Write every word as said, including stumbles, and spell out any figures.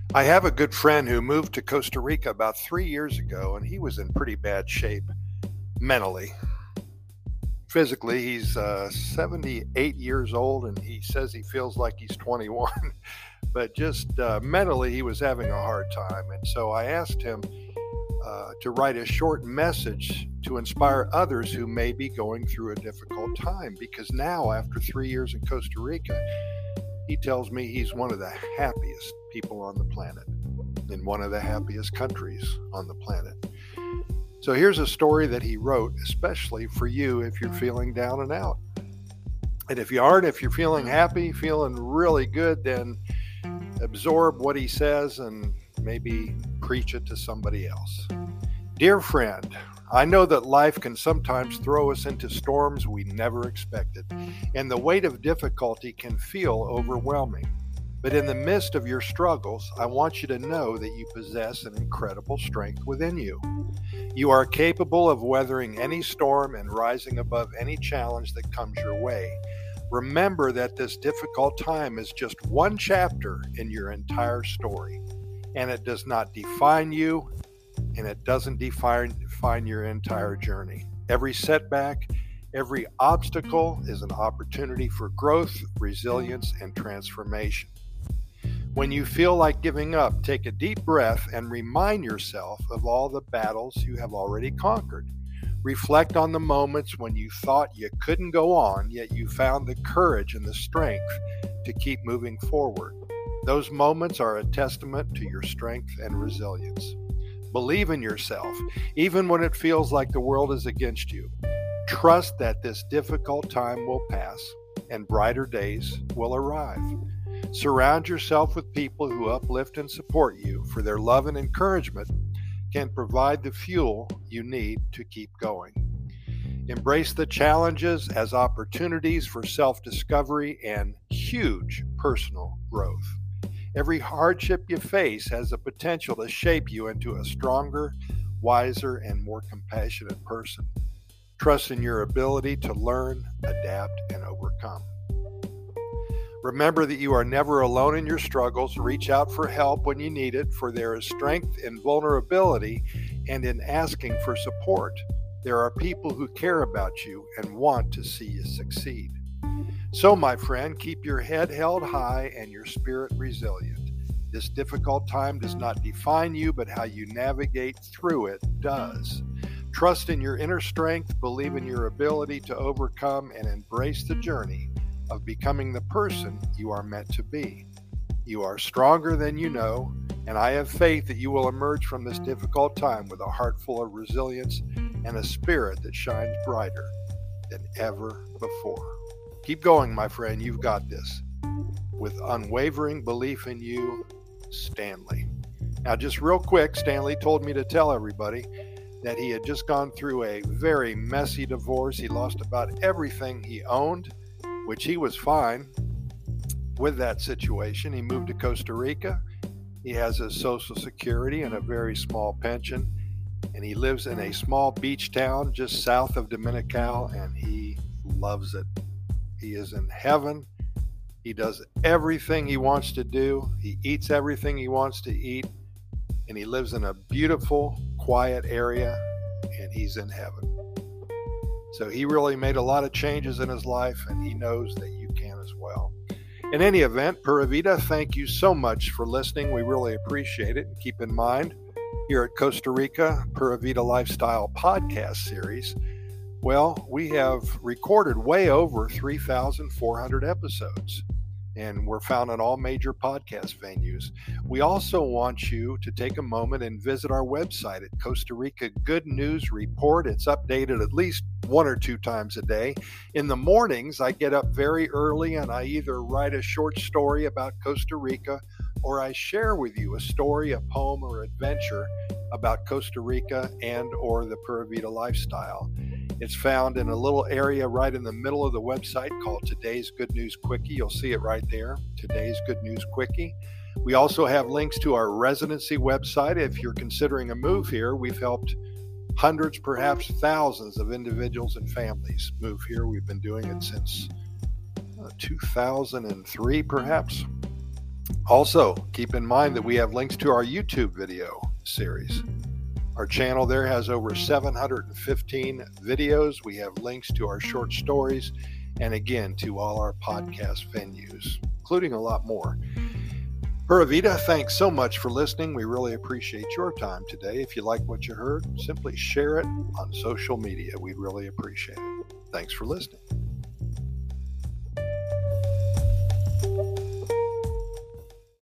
I have a good friend who moved to Costa Rica about three years ago, and he was in pretty bad shape mentally. Physically, he's uh, seventy-eight years old, and he says he feels like he's twenty-one. But just uh, mentally, he was having a hard time. And so I asked him uh, to write a short message to inspire others who may be going through a difficult time. Because now, after three years in Costa Rica, he tells me he's one of the happiest people on the planet, in one of the happiest countries on the planet. So here's a story that he wrote, especially for you if you're feeling down and out. And if you aren't, if you're feeling happy, feeling really good, then absorb what he says and maybe preach it to somebody else. Dear friend, I know that life can sometimes throw us into storms we never expected, and the weight of difficulty can feel overwhelming. But in the midst of your struggles, I want you to know that you possess an incredible strength within you. You are capable of weathering any storm and rising above any challenge that comes your way. Remember that this difficult time is just one chapter in your entire story, and it does not define you, and it doesn't define, define your entire journey. Every setback, every obstacle is an opportunity for growth, resilience, and transformation. When you feel like giving up, take a deep breath and remind yourself of all the battles you have already conquered. Reflect on the moments when you thought you couldn't go on, yet you found the courage and the strength to keep moving forward. Those moments are a testament to your strength and resilience. Believe in yourself, even when it feels like the world is against you. Trust that this difficult time will pass and brighter days will arrive. Surround yourself with people who uplift and support you, for their love and encouragement can provide the fuel you need to keep going. Embrace the challenges as opportunities for self-discovery and huge personal growth. Every hardship you face has the potential to shape you into a stronger, wiser, and more compassionate person. Trust in your ability to learn, adapt, and overcome. Remember that you are never alone in your struggles. Reach out for help when you need it, for there is strength in vulnerability and in asking for support. There are people who care about you and want to see you succeed. So, my friend, keep your head held high and your spirit resilient. This difficult time does not define you, but how you navigate through it does. Trust in your inner strength, believe in your ability to overcome, and embrace the journey of becoming the person you are meant to be. You are stronger than you know, and I have faith that you will emerge from this difficult time with a heart full of resilience and a spirit that shines brighter than ever before. Keep going, my friend. You've got this. With unwavering belief in you, Stanley. Now, just real quick, Stanley told me to tell everybody that he had just gone through a very messy divorce. He lost about everything he owned, which he was fine with that situation. He moved to Costa Rica. He has his Social Security and a very small pension, and he lives in a small beach town just south of Dominical, and he loves it. He is in heaven. He does everything he wants to do. He eats everything he wants to eat, and he lives in a beautiful, quiet area, and he's in heaven. So he really made a lot of changes in his life, and he knows that you can as well. In any event, Pura Vida, thank you so much for listening. We really appreciate it. And keep in mind, here at Costa Rica Pura Vida Lifestyle Podcast Series, well, we have recorded way over three thousand four hundred episodes, and we're found on all major podcast venues. We also want you to take a moment and visit our website at Costa Rica Good News Report. It's updated at least one or two times a day. In the mornings, I get up very early and I either write a short story about Costa Rica or I share with you a story, a poem, or adventure about Costa Rica and or the Pura Vida lifestyle. It's found in a little area right in the middle of the website called Today's Good News Quickie. You'll see it right there, Today's Good News Quickie. We also have links to our residency website. If you're considering a move here, we've helped hundreds, perhaps thousands of individuals and families move here. We've been doing it since uh, two thousand three, perhaps. Also, keep in mind that we have links to our YouTube video series. Our channel there has over seven hundred fifteen videos. We have links to our short stories and again to all our podcast venues, including a lot more. Pura Vida, thanks so much for listening. We really appreciate your time today. If you like what you heard, simply share it on social media. We'd really appreciate it. Thanks for listening.